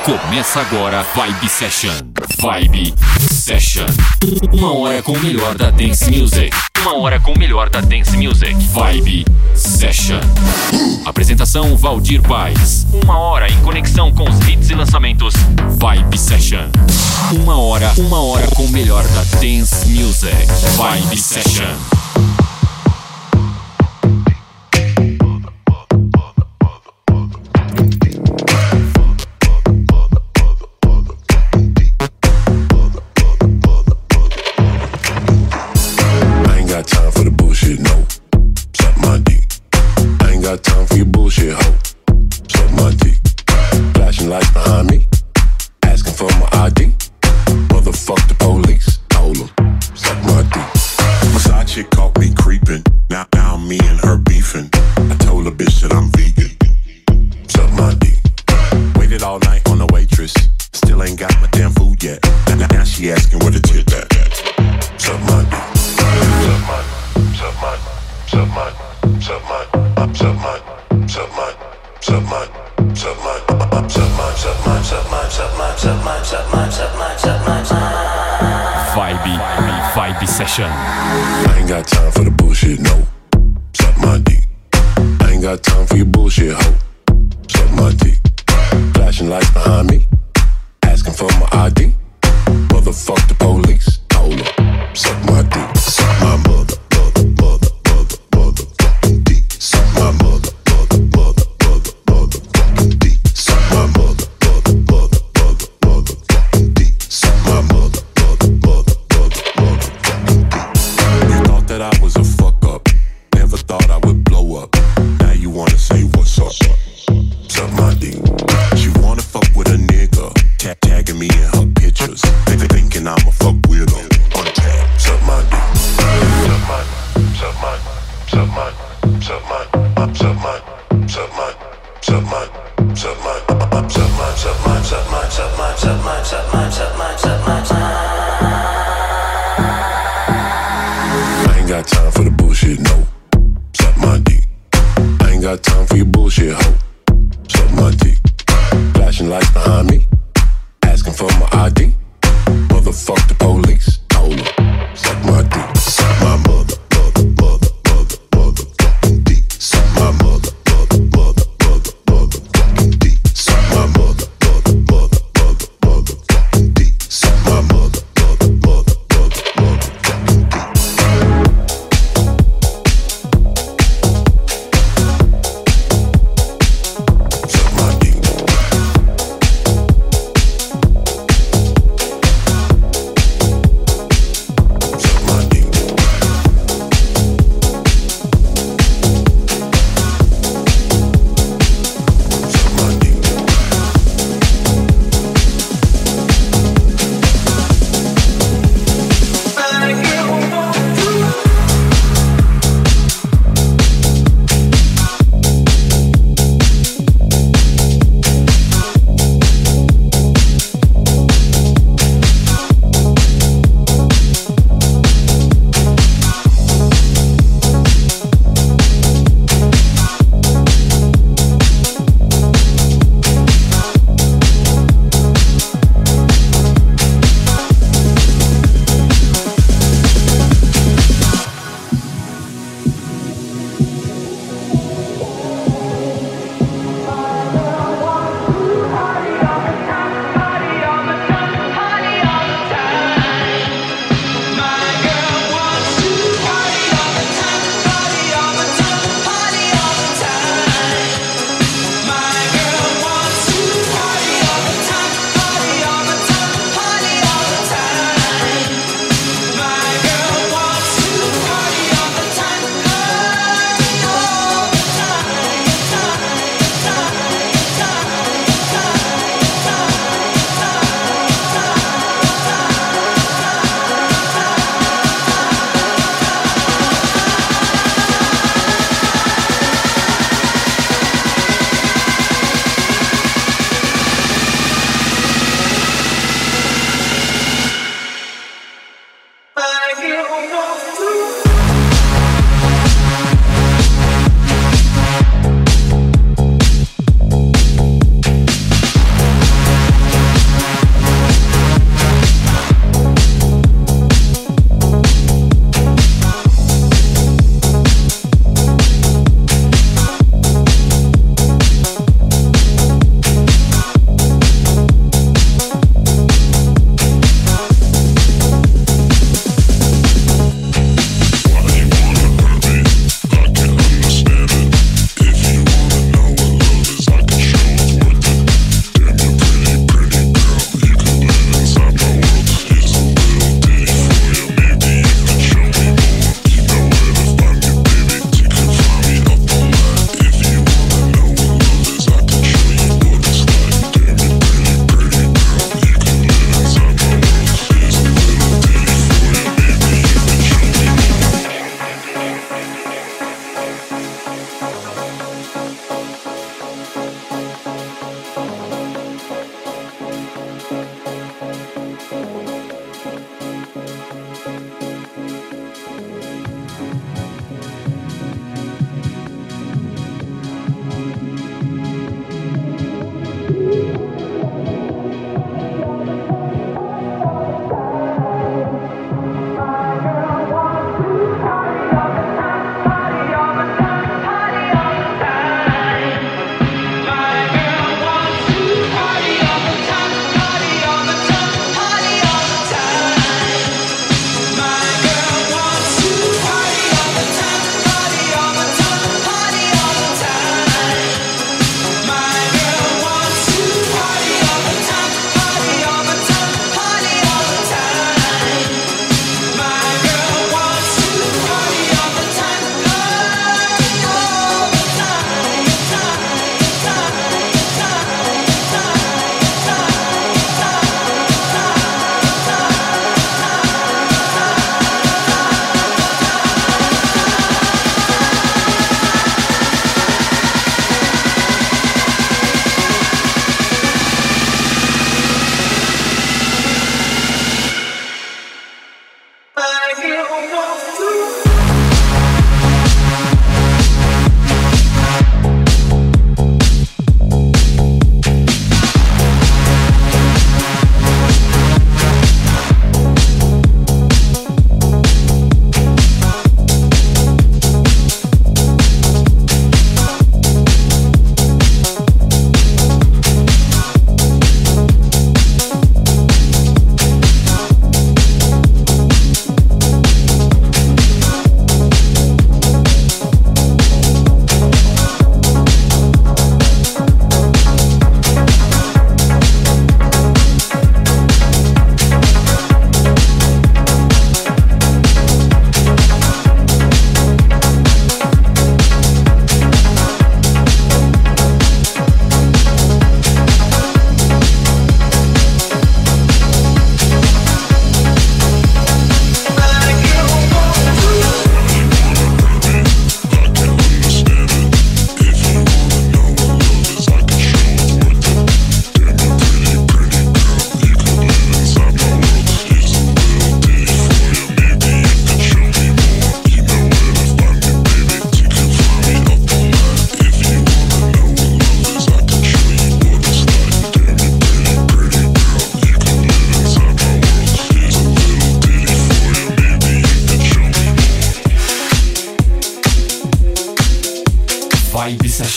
Começa agora Vibe Session. Vibe Session. 1 hora com o melhor da Dance Music. 1 hora com o melhor da Dance Music. Vibe Session. Apresentação Valdir Paes. 1 hora em conexão com os hits e lançamentos. Vibe Session. 1 hora com o melhor da Dance Music. Vibe Session. Vibe Session. I ain't got time for the bullshit, no. Suck my dick. I ain't got time for your bullshit, ho. Suck my dick. Flashing lights behind me, asking for my ID. Motherfuck the police, hold up. Suck my dick. Suck my mother fucking dick. Suck my mother fucking dick. Suck my mother fucking dick. Suck my mother that I was a fuck up. Never thought I would blow up. Now you wanna say what's up? Suck my dick. She wanna fuck with a nigga, tagging me in her pictures. Thinking I'ma fuck with her. Untag. Suck my dick. Suck my, suck my, suck my, suck my, suck my, suck my, suck my, suck my, suck my, suck my, suck my, suck my, suck my, suck my, suck my, suck my, suck my. Got time for the bullshit, no. Suck my dick. I ain't got time for your bullshit, ho. Suck my dick. Flashing lights behind me, asking for my ID. Motherfuck the police, hold up. Suck my dick. Suck my mother fucking dick. Suck my mother fucking dick. Suck my mother fucking dick. Suck my mother fucking dick.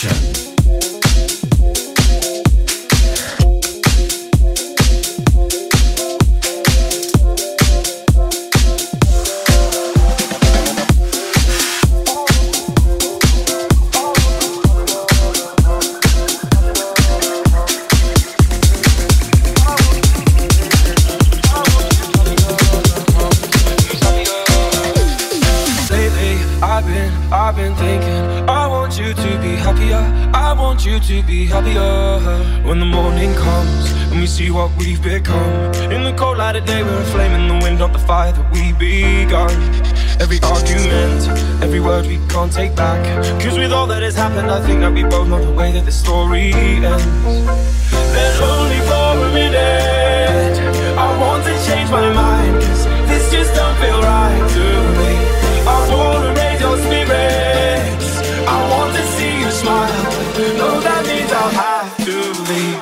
Session. I've been thinking, I want you to be happier, I want you to be happier. When the morning comes and we see what we've become, in the cold light of day we're a flame in the wind, not the fire that we begun. Every argument, every word we can't take back, cause with all that has happened I think that we both know the way that the story ends. Then only for a minute I want to change my mind, cause this just don't feel right to me. I wanna raise your spirits, I want to see you smile, no that means I'll have to leave.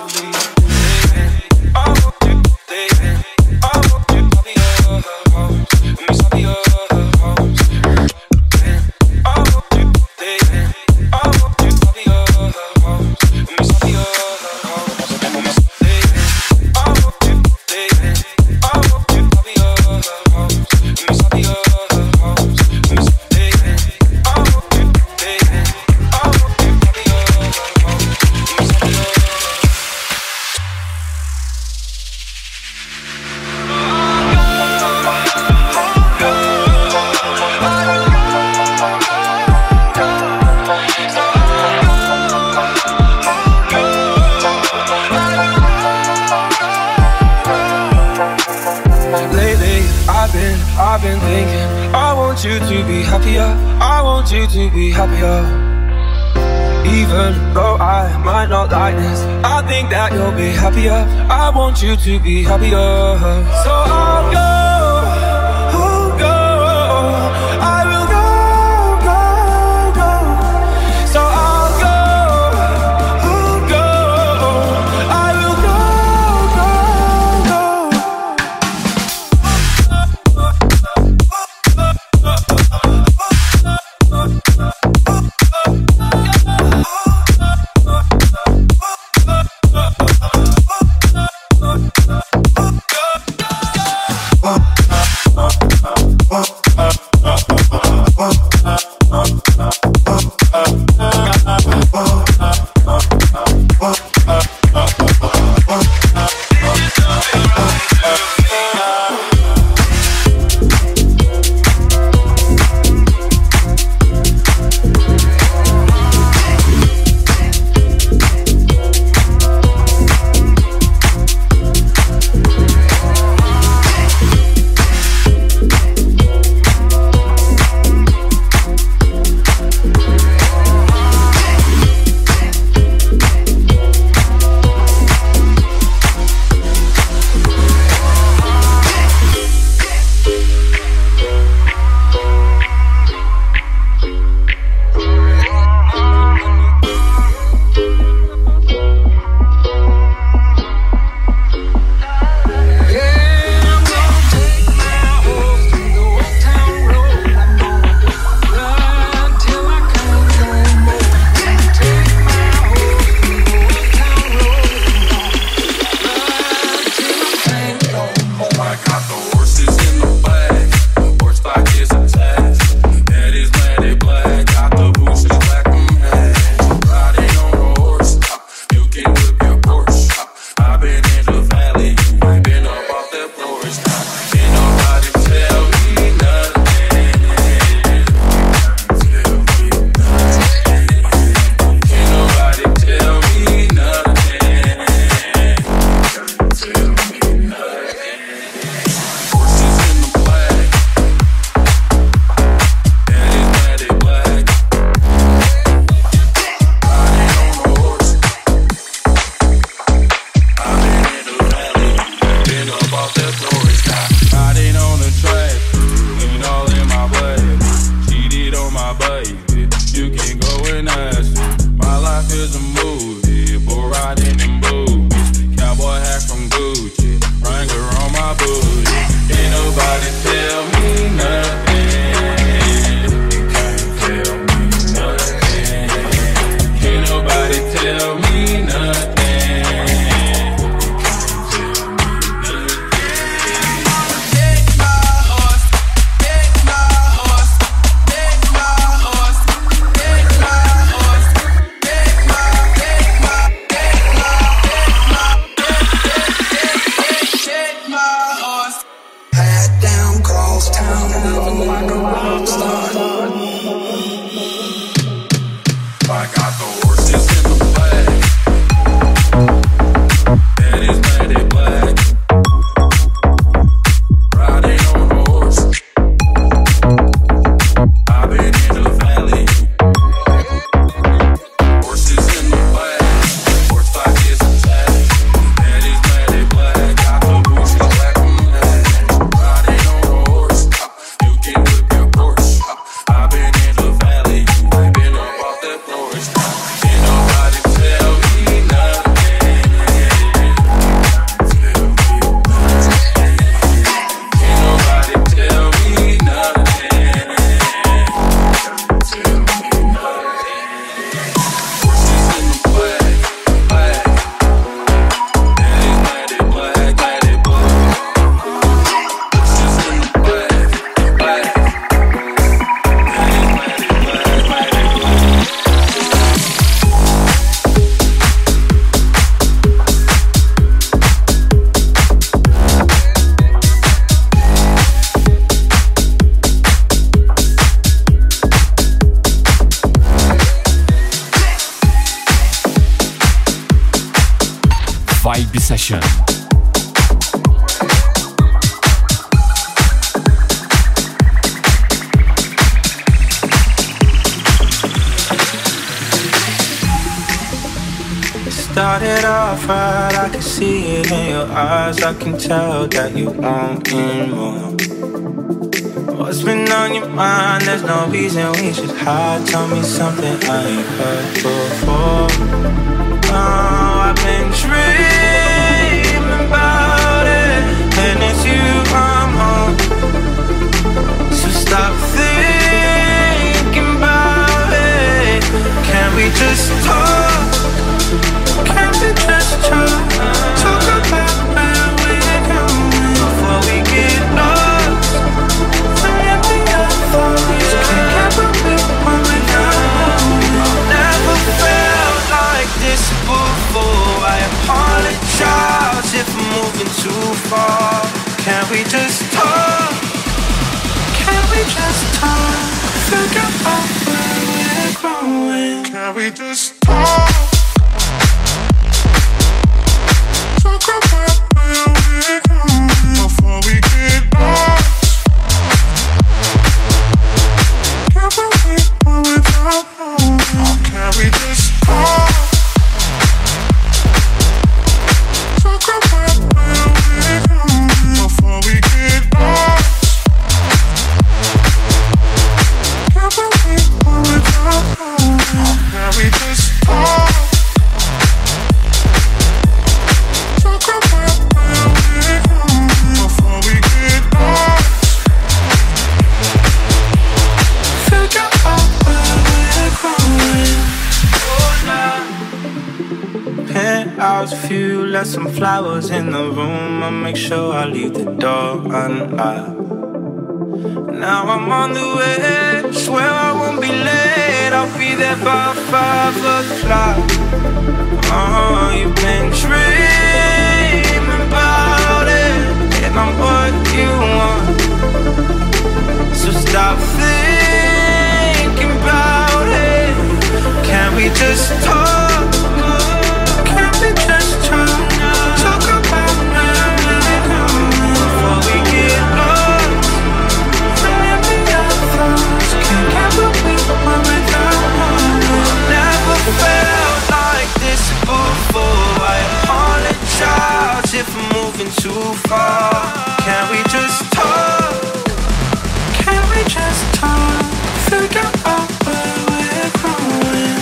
I want you, baby, I want you to be your home, and we be your homes. I want you, baby, I want you to be your homes, and we be your homes. I want you, baby, I want you to be your homes, and we be your homes. I've been thinking, I want you to be happier, I want you to be happier. Even though I might not like this, I think that you'll be happier, I want you to be happier. So I'll go, I will go. So I'll go, I will go. Vibe Session. Started off right, I can see it in your eyes. I can tell that you want me more. What's been on your mind? There's no reason we should hide. Tell me something I ain't heard before. Oh, I've been dreaming about it, and it's you I'm on. So stop thinking about it. Can we just talk? Can we just talk? Talk about where we're going before we get lost. Can't get what we want without. Never felt like this before. I apologize if I'm moving too far. Can we just talk? Can we just talk? Figure out where we're going. Can we just talk? Talk about where we're going before we get lost. Can't believe what without knowing. Can we just talk? Talk about where we're going before we get lost. Can't believe what without knowing. Can we just talk? Penthouse view, left some flowers in the room. I'll make sure I leave the door unlocked. Now I'm on the way, swear I won't be late. I'll be there by 5 o'clock. Oh, you've been dreaming about it, and I'm what you want. So stop thinking about it. Can we just talk? Just talk about where we're going before we get lost. Maybe our thoughts can't get what we want without knowing. Never felt like this before. I apologize if I'm moving too far. Can we just talk? Can we just talk? Figure out where we're going.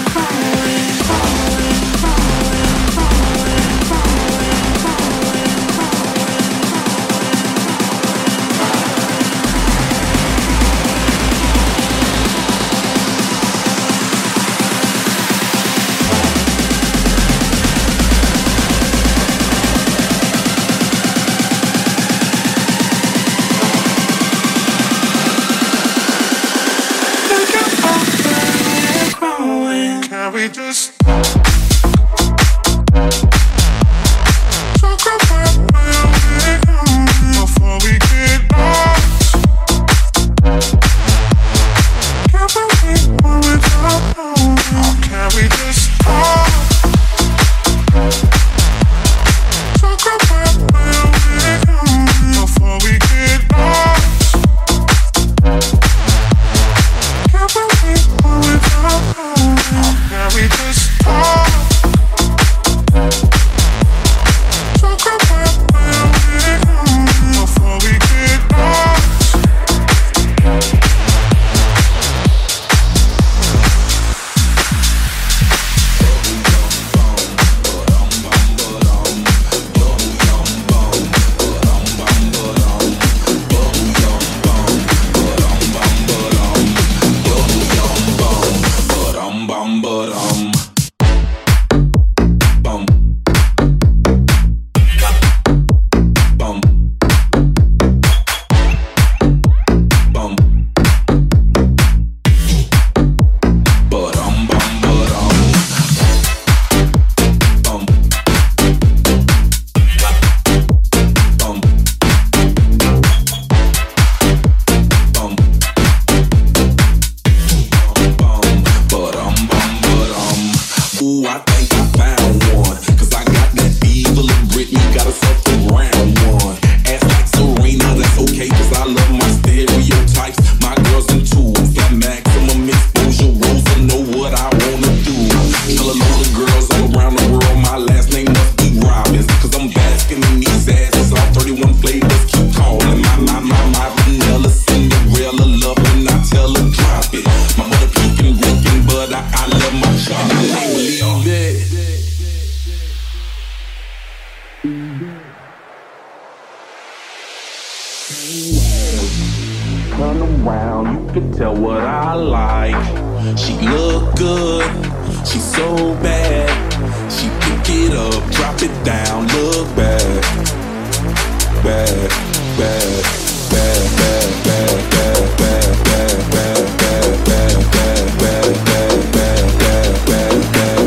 Turn around, you can tell what I like. She look good, she's so bad. She pick it up, drop it down, look bad. Bad, bad, bad, bad, bad, bad, bad, bad, bad, bad, bad, bad, bad, bad, bad, bad,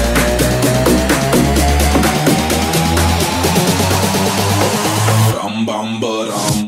bad. Bum bum ba-dum.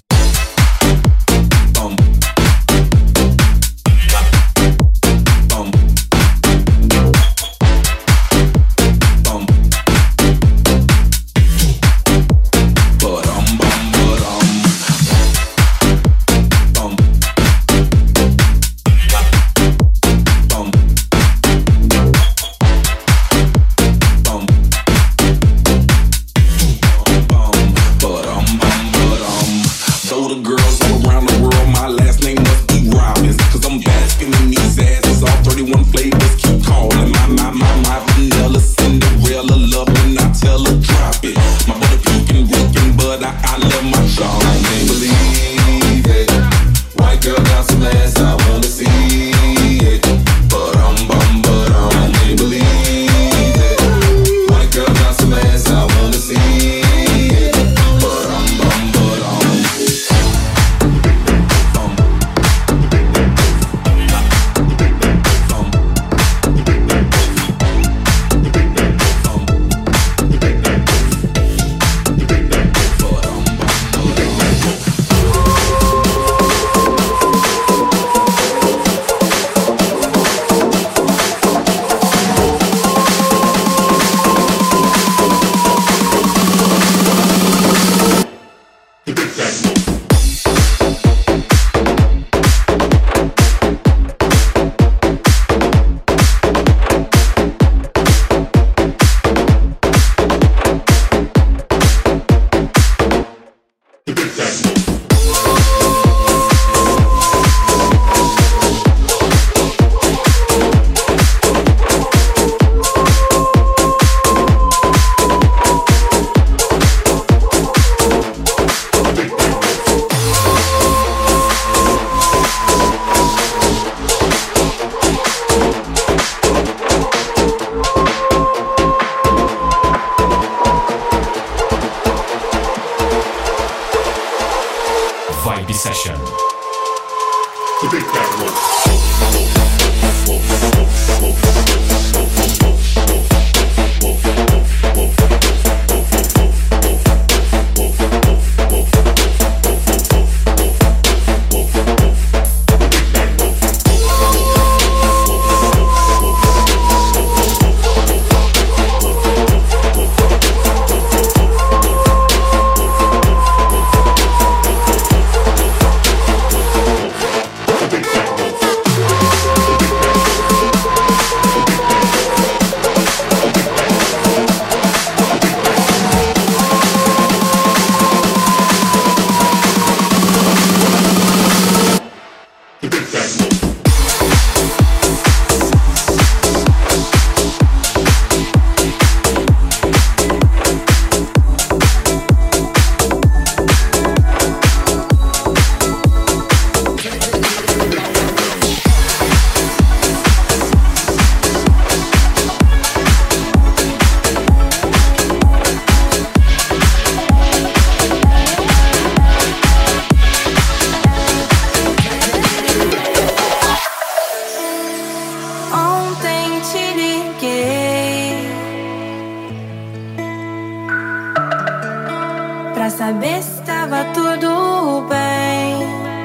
saber se estava tudo bem.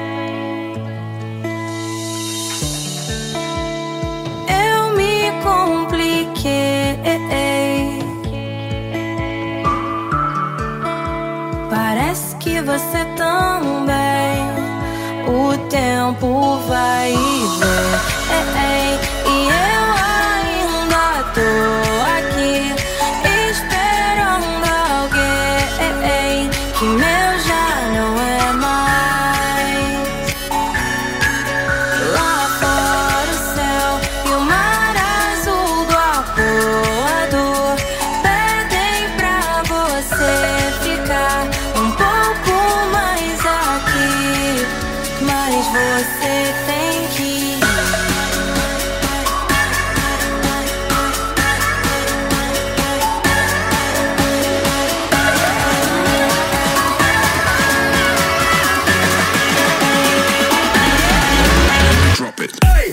Eu me compliquei. Parece que você também. O tempo vai e vem. E eu ainda tô aqui esperando alguém que meu já não é mais. Lá fora o céu e o mar azul do arpoador pedem pra você tem que ir. Drop it. Hey!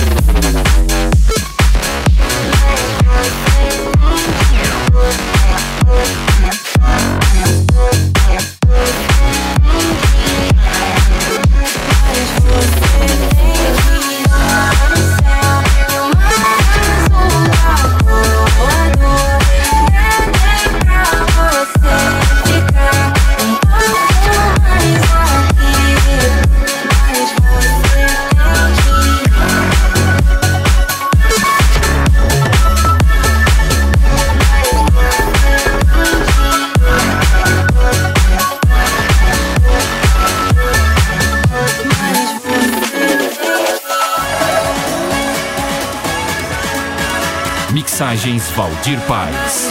Mixagens Valdir Paz.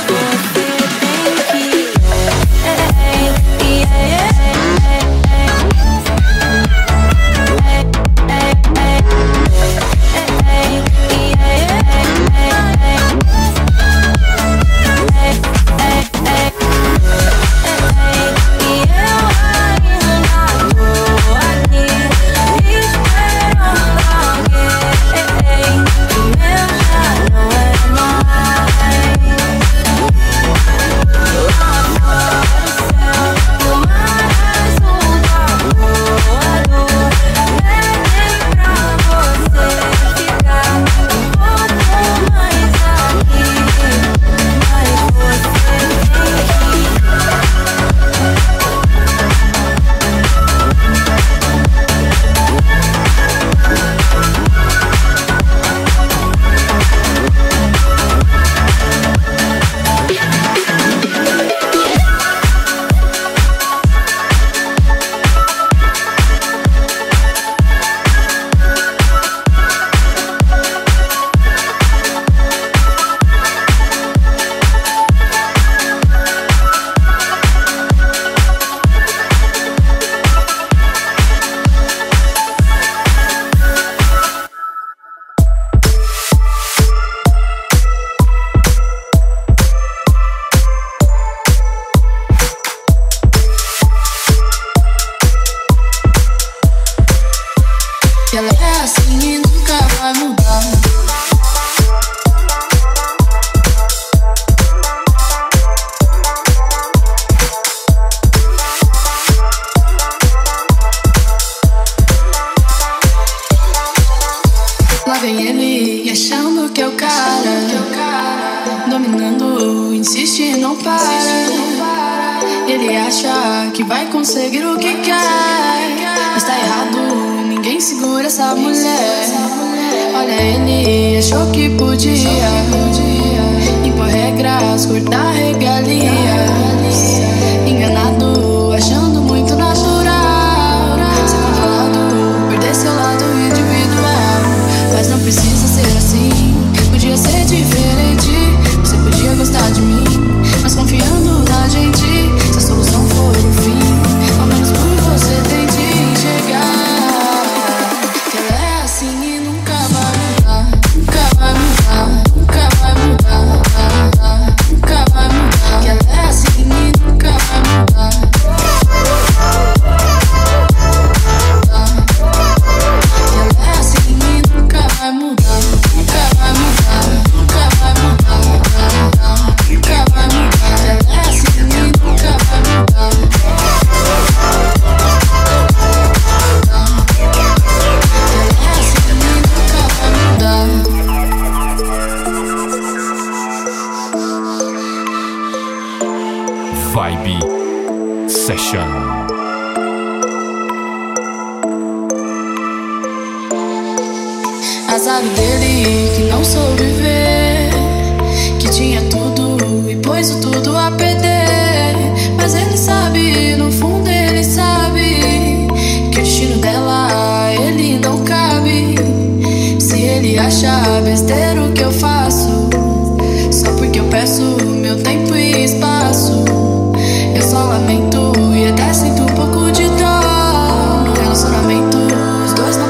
Ela é assim e nunca vai mudar. Lá vem ele achando que é o cara, dominando, insiste e não para. Ele acha que vai conseguir o que quer, está errado, ninguém segura essa mulher. Olha, ele achou que podia impor regras, cortar regalias, enganado, achando muito natural ser controlado, perder seu lado individual. Mas não precisa ser assim, podia ser diferente. Você podia gostar de mim, mas confiando na gente. Se a solução for o fim, ao menos por você tente enxergar que ela é assim e nunca vai mudar. Nunca vai mudar, nunca vai mudar, nunca vai mudar. Que ela é assim e nunca vai mudar. Que ela é assim e nunca vai mudar. Nunca vai mudar, nunca vai mudar, nunca vai mudar. Que ela é assim e nunca vai mudar. Vibe Session. Azar dele que não soube ver que tinha tudo e pôs o tudo a perder. Mas ele sabe, no fundo ele sabe que o destino dela ele não cabe. Se ele acha besteira o que eu faço, só porque eu peço meu tempo e espaço, eu só lamento e até sinto um pouco de dor. No relacionamento os dois não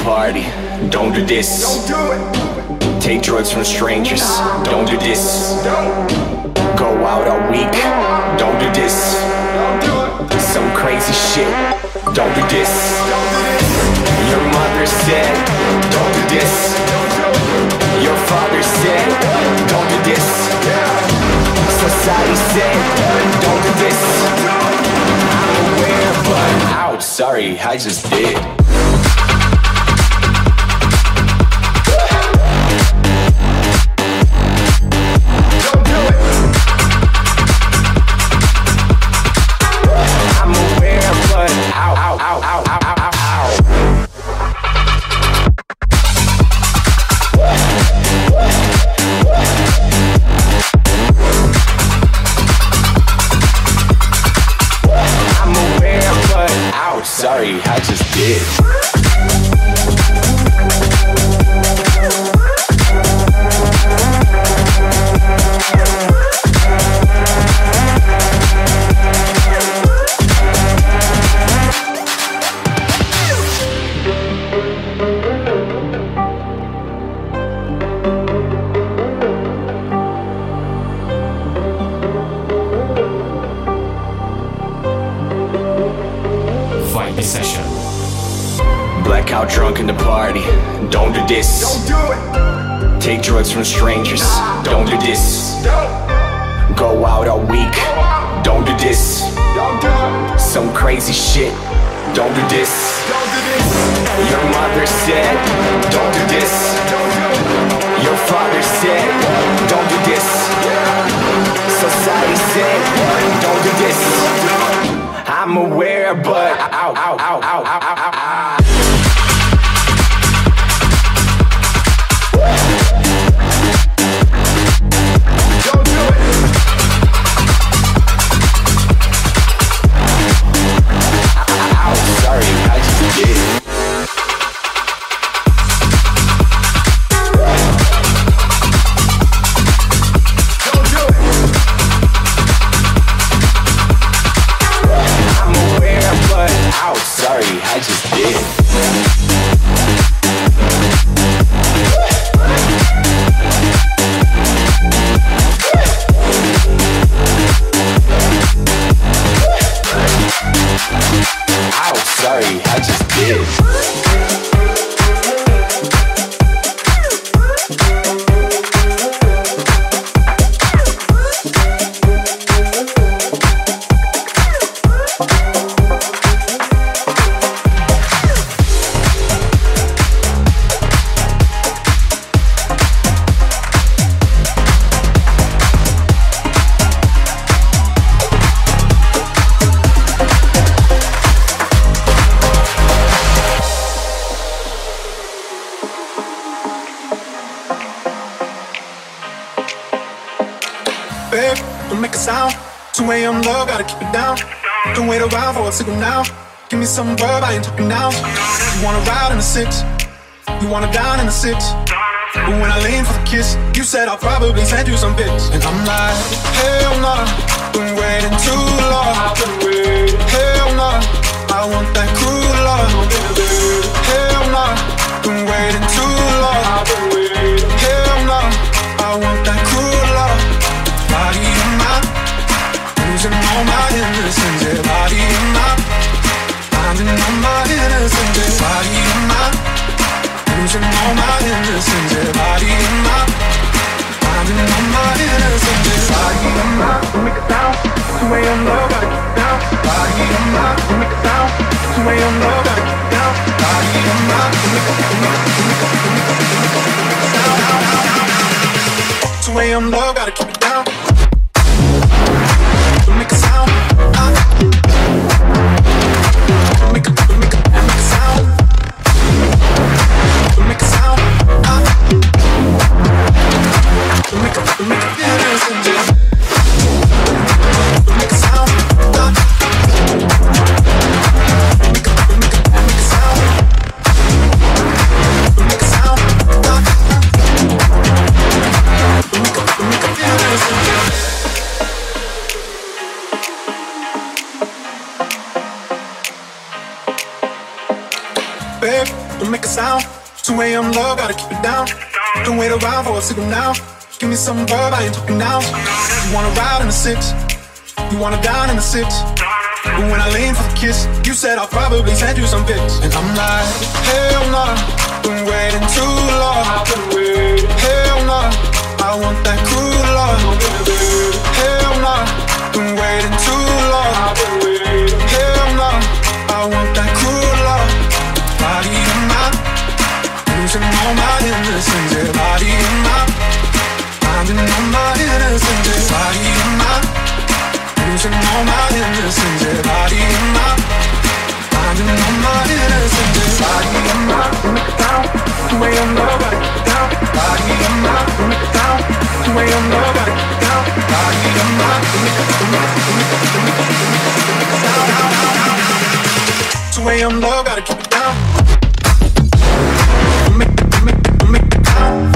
party. Don't do this. Don't do it. Take drugs from strangers. Don't do this. Go out all week. Don't do this. Some crazy shit. Don't do this. Your mother said, don't do this. Your father said, don't do this. Society said, don't do this. I'm aware, but out. Sorry, I just did. Sorry, I just did. Session. Blackout drunk in the party. Don't do this. Don't do it. Take drugs from strangers. Don't do this. Go out all week. Don't do this. Some crazy shit. Don't do this. Your mother said, don't do this. Your father said, don't do this. Society said, don't do this. I'm aware, but out. Don't do it. Out. Sorry, I just did it. Sorry, I just did. Ow, sorry, I just did. Babe, don't make a sound. 2 a.m. love, gotta keep it down. Don't wait around for a signal now. Give me some verb, I ain't talking now. You wanna ride in the 6, you wanna dine in the 6. But when I lean for the kiss, you said I'll probably send you some pics. And I'm like, hell nah, been waiting too long. Hell nah, I want that cruel love. Hell nah, been waiting too long. Hell nah, I want that cruel love. Body of mine, losing all my innocence. Yeah, body of mine, finding all my innocence. Yeah, body of mine, losing all my innocence. Yeah, body of mine, finding all my innocence. Yeah, body of mine, make it down. 2 a.m. love, gotta keep it down. Body of mine, make it down. 2 a.m. love, gotta keep it down. Body of mine, make it down. 2 a.m. love, gotta keep it down. Make a sound. Make a sound. Make a sound. Make a innocent just. Make a sound. Make a sound. Make a sound. Make a innocent. 2 a.m. love, gotta keep it down. Don't wait around for a signal now. Give me some verb, I ain't talking now. You wanna ride in the 6, you wanna dine in the 6. But when I lean for the kiss, you said I'll probably send you some pics. And I'm like, hell nah, been waiting too long. Hell nah, I want that cruel love. Hell nah, been waiting too long. Hell nah, I want that cruel love. Body of mine, losing all my innocence. Yeah, body of mine, finding all my innocence. Yeah, body of mine, losing all my innocence. Yeah, body of mine, finding all my innocence. Yeah, body of mine, make it down. 2 a.m. love, gotta keep it down. Body of mine, make it down. 2 a.m. love, gotta keep it down. Body of mine, make it down. 2 a.m. love, gotta keep it down. Make it down.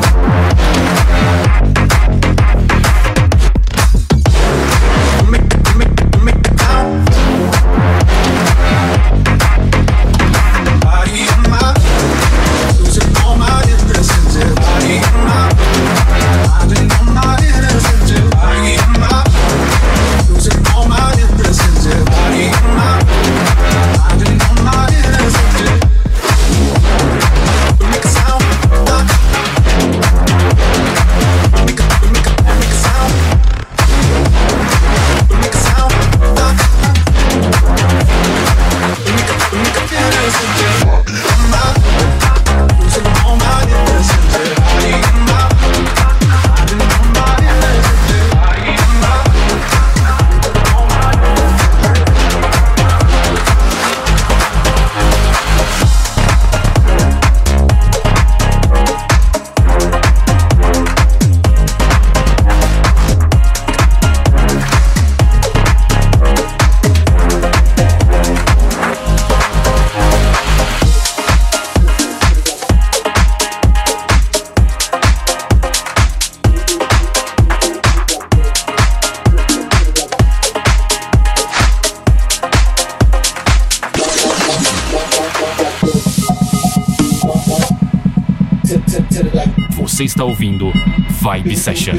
Você está ouvindo Vibe Session.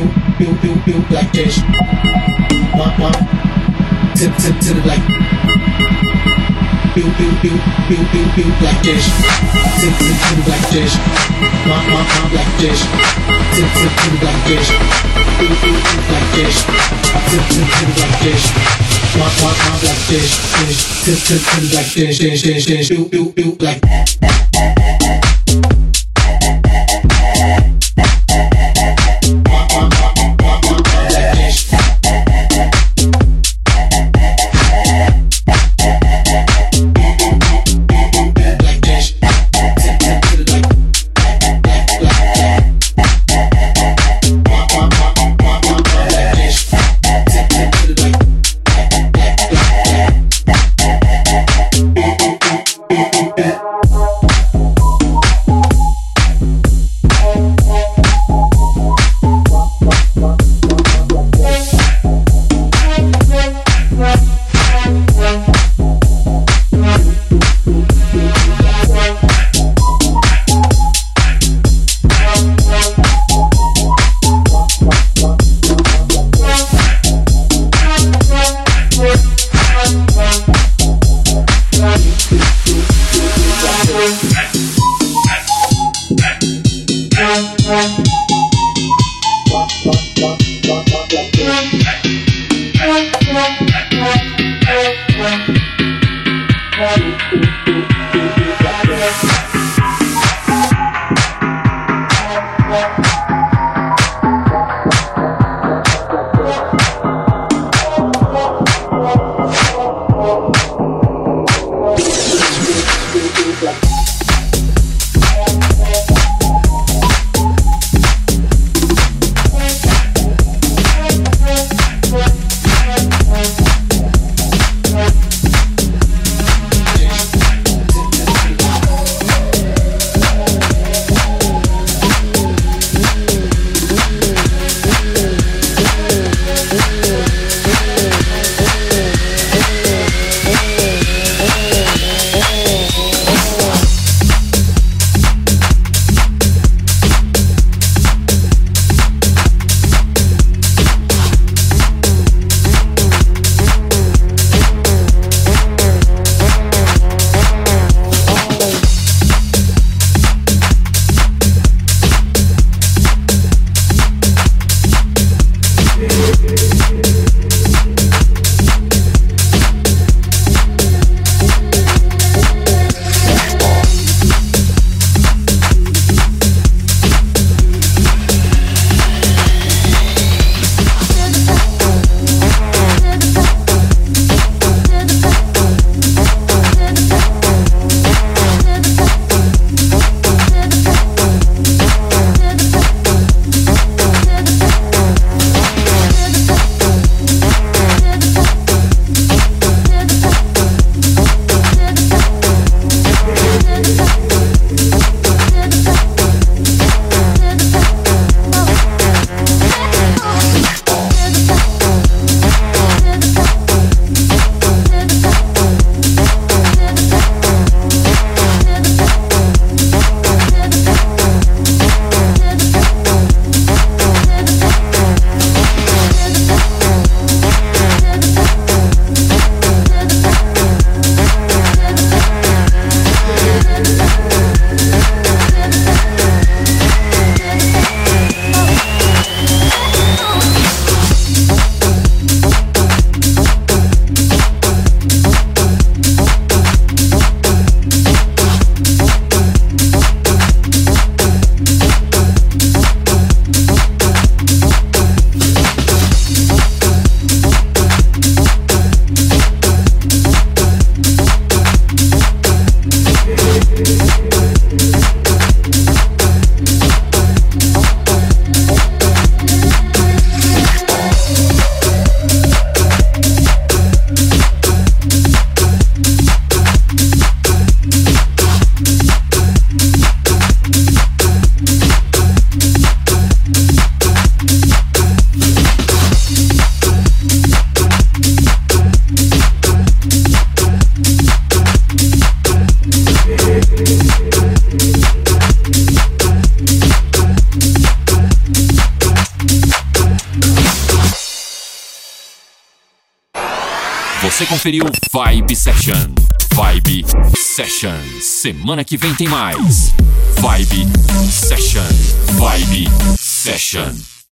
Você conferiu Vibe Session. Vibe Session. Semana que vem tem mais. Vibe Session. Vibe Session.